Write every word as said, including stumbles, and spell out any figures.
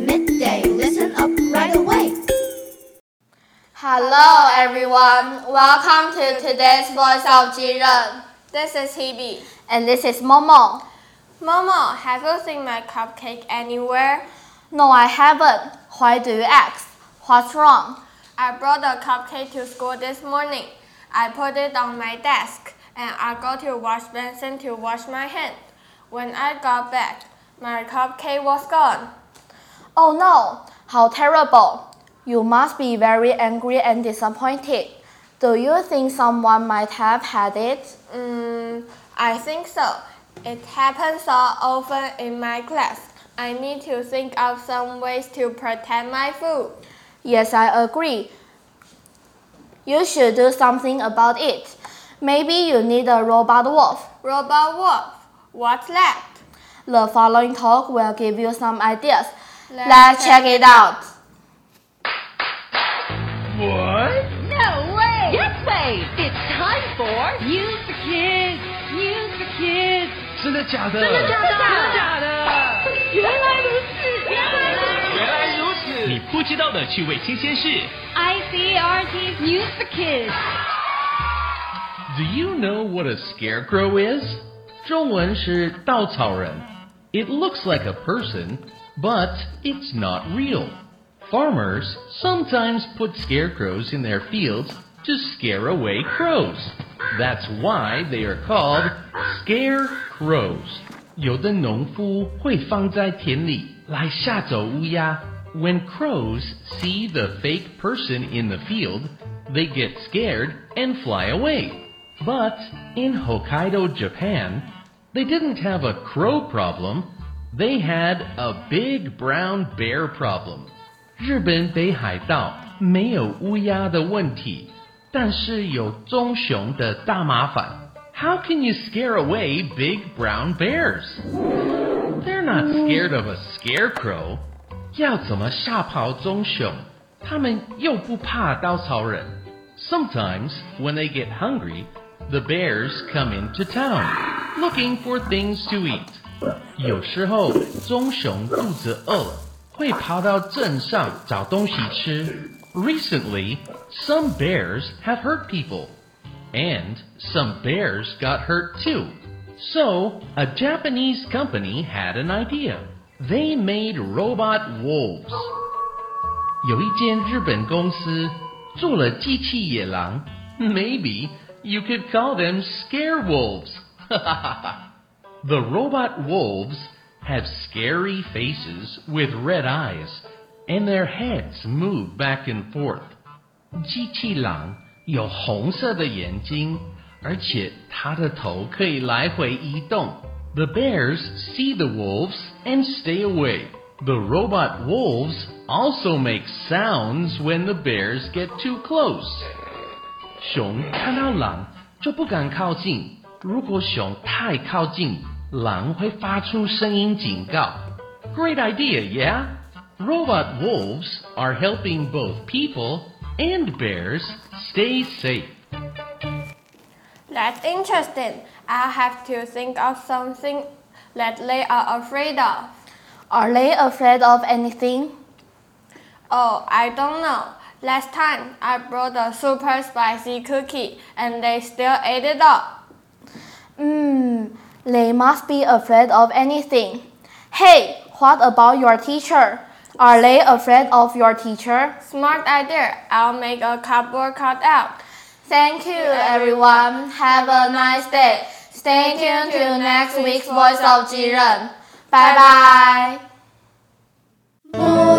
midday. Listen up right away. Hello everyone, welcome to today's Voice of Jiren. This is Hebe. And this is Momo. Momo, have you seen my cupcake anywhere? No, I haven't. Why do you ask? What's wrong? I brought a cupcake to school this morning. I put it on my desk and I go to wash basin to wash my hands. When I got back, my cupcake was gone. Oh no, how terrible. You must be very angry and disappointed. Do you think someone might have had it? Mm, I think so. It happens so often in my class. I need to think of some ways to protect my food. Yes, I agree. You should do something about it. Maybe you need a robot wolf. Robot wolf? What's that? The following talk will give you some ideas. Let's, Let's check it out. What? No way! Yes way! It's time for News for Kids! News for Kids! 真的假的？ 真的假的？ 真的假的？ 原來如此！原来如此！ 原来如此！你不知道的趣味新鮮事。 I C R T's News for Kids. Do you know what a scarecrow is? 中文是稻草人。It looks like a person, but it's not real. Farmers sometimes put scarecrows in their fields to scare away crows. That's why they are called scarecrows. 有的農夫會放在田裡來嚇走烏鴉。When crows see the fake person in the field, they get scared and fly away. But in Hokkaido, Japan, they didn't have a crow problem. They had a big brown bear problem. 日本北海道沒有烏鴉的問題，但是有棕熊的大麻煩。How can you scare away big brown bears? They're not scared of a scarecrow. 要怎麼嚇跑棕熊？他們又不怕稻草人。Sometimes, when they get hungry, the bears come into town, looking for things to eat. 有時候棕熊肚子餓了，會跑到鎮上找東西吃。Recently, some bears have hurt people, and some bears got hurt too. So, a Japanese company had an idea. They made robot wolves. 有一間日本公司做了機器野狼。Maybe you could call them scare wolves. The robot wolves have scary faces with red eyes, and their heads move back and forth. 机器狼有紅色的眼睛，而且它的頭可以來回移動。The bears see the wolves and stay away. The robot wolves also make sounds when the bears get too close. 熊看到狼就不敢靠近，如果熊太靠近，狼會發出聲音警告。Great idea, yeah? Robot wolves are helping both people and bears stay safe. That's interesting. I'll have to think of something that they are afraid of. Are they afraid of anything? Oh, I don't know. Last time, I brought a super spicy cookie and they still ate it up. Hmm, they must be afraid of anything. Hey, what about your teacher? Are they afraid of your teacher? Smart idea. I'll make a cardboard cutout. Thank you, everyone. Have a nice day. Stay tuned to next week's Voice of Jiren. Bye bye.